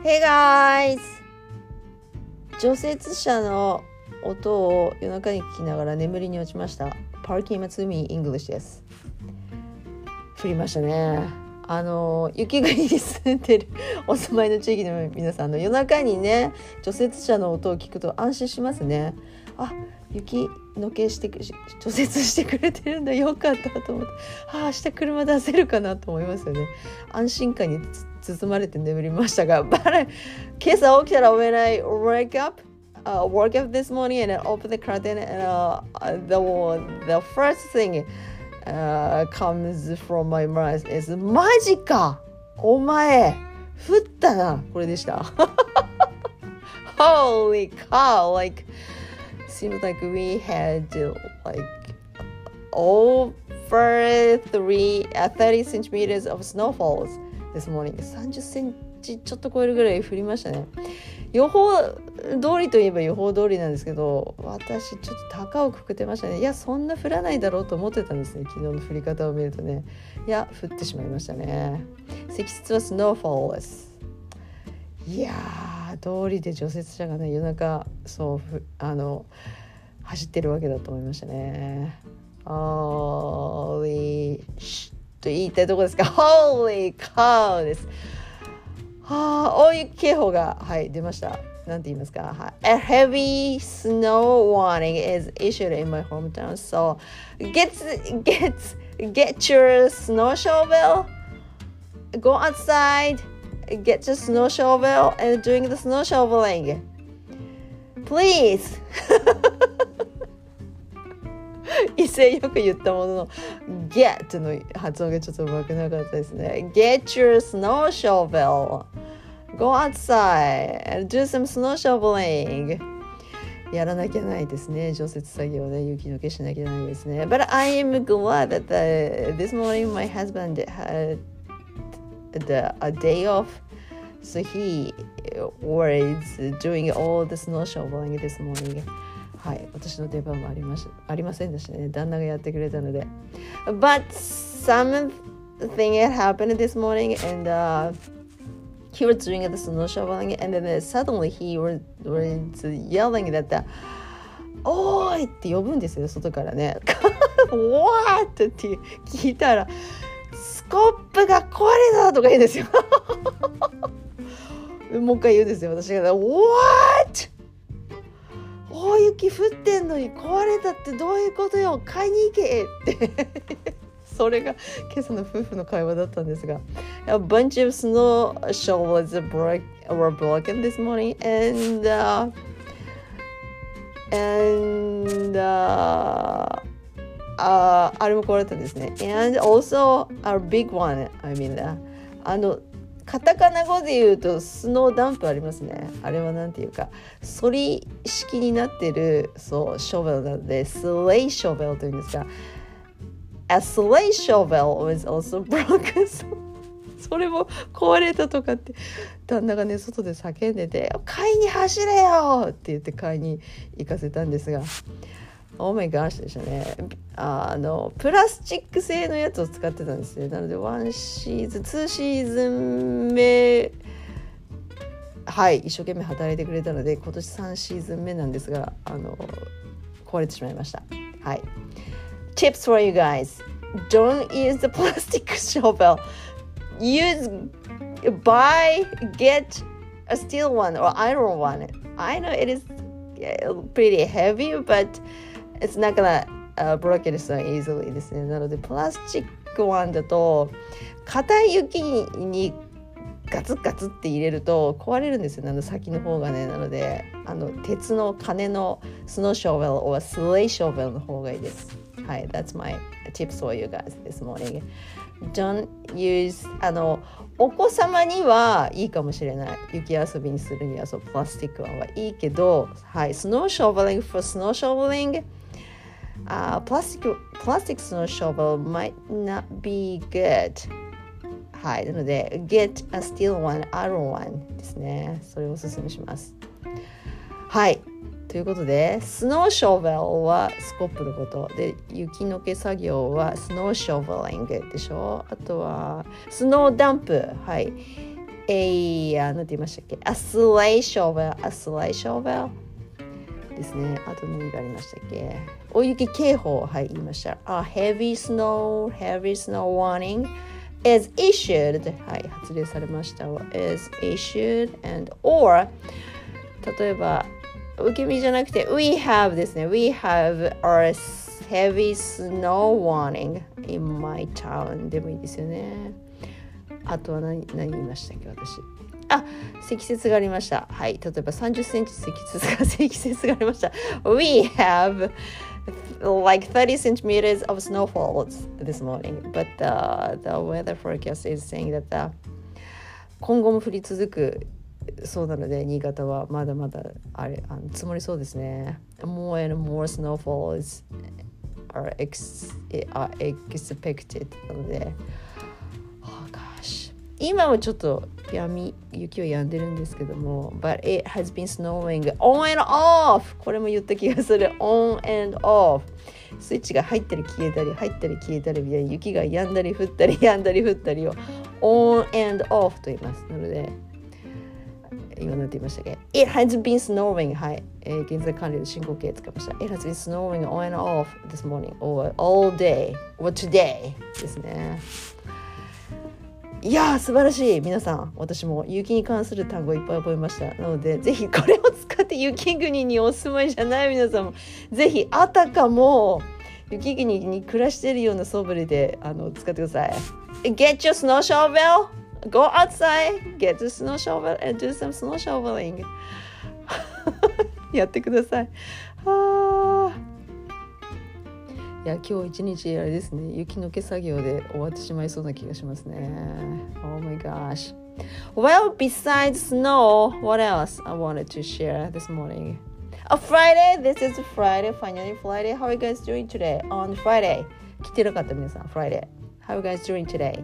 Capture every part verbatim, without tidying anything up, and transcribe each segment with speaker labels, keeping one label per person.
Speaker 1: Hey guys! 除雪車の音を夜中に聞きながら眠りに落ちました。Parking Matsumi English です。降りましたね。あの雪国に住んでるお住まいの地域の皆さんの夜中にね除雪車の音を聞くと安心しますね。あ、雪のけして除雪してくれてるんだ、よかったと思って、ああ明日車出せるかなと思いますよね。安心感に包まれて眠りましたが、今朝起きたら when I wake up Uh, woke up this morning and I opened the curtain and uh, the the first thing uh, comes from my mind is マジかお前降ったな、これでした。Holy cow, like seems like we had like over three uh, thirty centimeters of snowfalls this morning. さんじゅっセンチちょっと超えるぐらい降りましたね。予報通りといえば予報通りなんですけど、私ちょっと高をくくってましたね。いやそんな降らないだろうと思ってたんですね。昨日の降り方を見るとね、いや降ってしまいましたね。積雪はスノーフォールです。いやー通りで除雪車がね夜中そうあの走ってるわけだと思いましたね。Holy と言いたいところですが Holy cow です。はあ、大雪警報が、はい、出ました。なんて言いますか、はい、A heavy snow warning is issued in my hometown. So get, get, get your snow shovel, go outside, get your snow shovel and doing the snow shoveling. Please! 威勢よく言ったものの get の発音がちょっとうまくなかったですね。 Get your snow shovel, go outside and do some snow shoveling. やらなきゃないですね、除雪作業で雪除けしなきゃないですね。 But I am glad that the, this morning my husband had the, a day off, so he was doing all the snow shoveling this morning. はい、私の出番もありましありませんでしたね。旦那がやってくれたので。But something had happened this morning and、uh, he was doing the snow shoveling and then suddenly he was, was yelling that the, おーいって呼ぶんですよ、外からね。What? って聞いたらスコップが壊れたとか言うんですよ。もう一回言うんですよ、私が。What?大雪降ってんのに壊れたってどういうことよ、買いに行けってそれが今朝の夫婦の会話だったんですが、 A bunch of snow shovels broke, were broken this morning and、uh, and、uh, uh, あれも壊れたんですね。 And also a big one, I mean、uh, あのカタカナ語で言うとスノーダンプありますね。あれはなんていうか反り式になってるそうショベルなのでスレイショベルというんですが、 A sleigh shovel was also broken. それも壊れたとかって旦那がね外で叫んでて、買いに走れよって言って買いに行かせたんですが、Oh my gosh でしたね。あのプラスチック製のやつを使ってたんですね。なのでワンシーズンツーシーズン目はい一生懸命働いてくれたので今年さんシーズン目なんですが、あの壊れてしまいました。はい。Tips for you guys: Don't use the plastic shovel. Use buy get a steel one or iron one. I know it is pretty heavy, but.It's not gonna、uh, break it so easily ですね。なのでプラスチックワンだと硬い雪にガツッガツって入れると壊れるんですよ、あの先の方がね。なのであの鉄の金のスノーショベル or スレイショベルの方がいいです。はい、That's my tips for you guys this morning. Don't use あのお子様にはいいかもしれない。雪遊びにするにはそうプラスチックワンはいいけど、はい、スノーショベリング for スノーショベリングUh, plastic, plastic snow shovel might not be good. はい、なので get a steel one, iron one ですね。それをおすすめします。はい、ということでスノーショベルはスコップのことで、雪のけ作業はスノーショベリングでしょ。あとはスノーダンプ、はい、 a あ、なんて言いましたっけ a sleigh shovel a sleigh shovel ですね。あと何がありましたっけ大雪警報、はい、言いました。A heavy snow, heavy snow warning is issued はい、発令されました。is issued and or 例えば受け身じゃなくて we have ですね。 we have a heavy snow warning in my town でもいいですよね。あとは何、何言いましたっけ私。あ、積雪がありました。はい、例えばさんじゅっセンチ積雪が積雪がありました。We have like thirty centimeters of snowfall this morning, but the, the weather forecast is saying that the 今後も降り続くそうなので新潟はまだまだあれあの積もりそうですね。More and more snowfalls are, ex, are expected なので、oh gosh、今はちょっとやみ雪は止んでるんですけども But it has been snowing on and off これも言った気がする on and off スイッチが入ったり消えたり入ったり消えたりみたいな雪が止んだり降ったり止んだり降ったりを on and off と言いますなので今なんて言いましたっけ It has been snowing はい、えー、現在完了で進行形使いました It has been snowing on and off this morning or all day or today ですね。いやー素晴らしい。皆さん私も雪に関する単語いっぱい覚えました。なのでぜひこれを使って雪国にお住まいじゃない皆さんもぜひあたかも雪国に暮らしているような素振りであの使ってください。 Get your snow shovel Go outside Get your snow shovel and do some snow shoveling やってください。はーいや今日一日あれですね雪のけ作業で終わってしまいそうな気がしますね。 Oh my gosh. Well, besides snow, what else I wanted to share this morning? A Friday, this is Friday, finally Friday. How are you guys doing today on Friday? 来てなかった皆さん Friday. How are you guys doing today?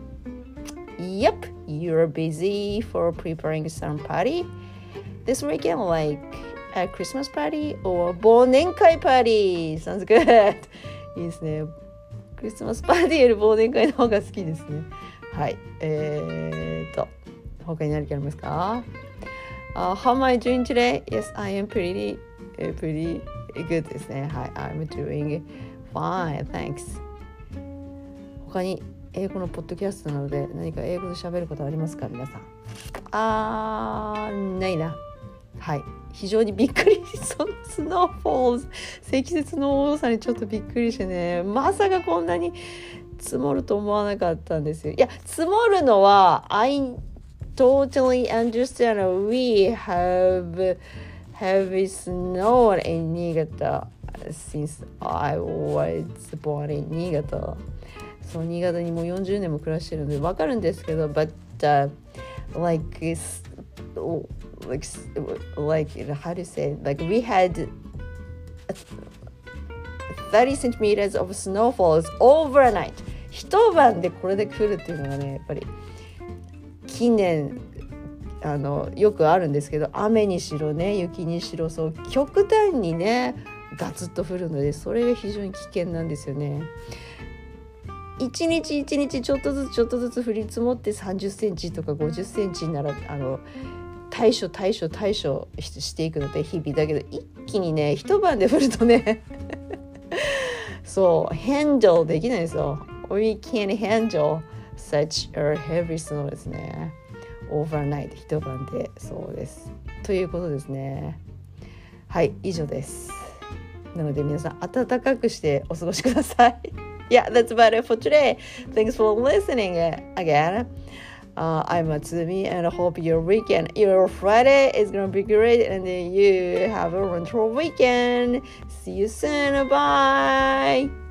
Speaker 1: Yep, you're busy for preparing some party this weekend like A Christmas party or 忘年会 party sounds good いいですね。クリスマスパーティーより忘年会の方が好きですね。はいえーと他に何かありますか、uh, How am I doing today? Yes, I am pretty pretty good ですね。はい I'm doing fine, thanks 他に英語のポッドキャストなので何か英語で喋ることありますか皆さん。あーないな。はい非常にびっくりそのスノーフォールズ積雪の多さにちょっとびっくりしてねまさかこんなに積もると思わなかったんですよ。いや積もるのは I totally understand we have heavy snow in 新潟 since I was born in 新潟そう新潟にもうよんじゅうねんも暮らしてるので分かるんですけど but、uh, like it's like like how do you say like we had thirty centimeters of snowfalls overnight 一晩でこれだけ降るっていうのがねやっぱり近年あのよくあるんですけど雨にしろね雪にしろそう極端にねガツッと降るのでそれが非常に危険なんですよね。一日一日ちょっとずつちょっとずつ降り積もってさんじゅっセンチとかごじゅっセンチならあの対処対処対処していくので日々だけど一気にね一晩で降るとねそう handle できないですよ。 We can't handle such a heavy snow ですね overnight 一晩でそうですということですね。はい以上です。なので皆さん暖かくしてお過ごしください。Yeah, that's about it for today. Thanks for listening again. Uh, I'm Matsumi and I hope your weekend, your Friday is going to be great and you have a wonderful weekend. See you soon. Bye.